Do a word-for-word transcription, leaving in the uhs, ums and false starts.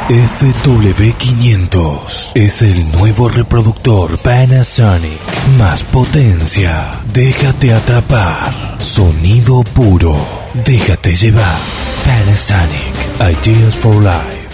F W quinientos es el nuevo reproductor Panasonic. Más potencia. Déjate atrapar. Sonido puro. Déjate llevar. Panasonic. Ideas for Life.